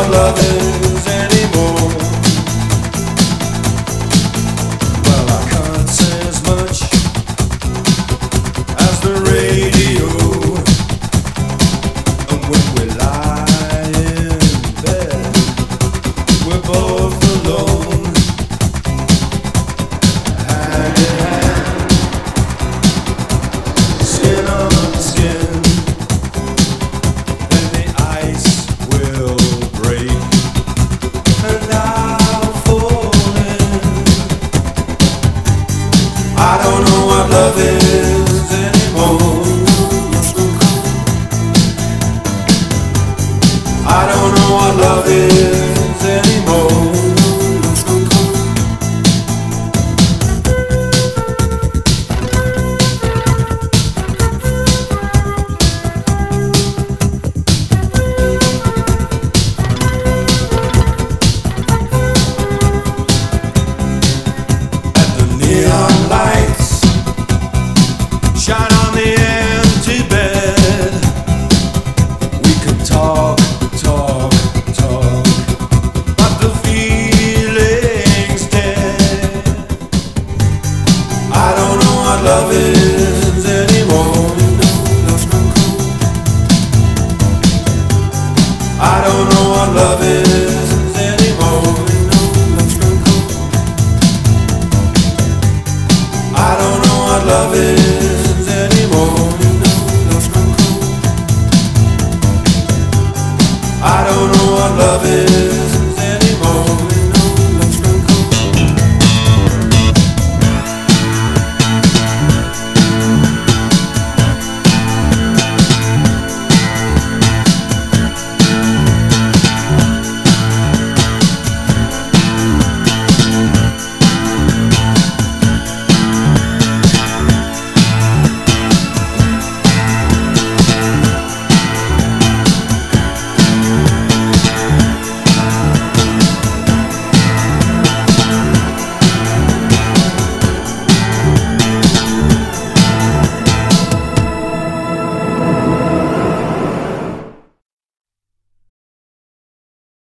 what love is anymore. Well, I can't say as much as the radio. And when we lie in bed, we're both alone, hand in hand, skin on skin. Then the ice will break, and I'll fall in. I don't know what love is anymore. I don't know what love is anymore. At the neon lights shine on the empty bed. We can talk, talk, talk, but the feeling's dead. I don't know what love is anymore. I don't know what love is anymore. I don't know what love is anymore. I don't know what love is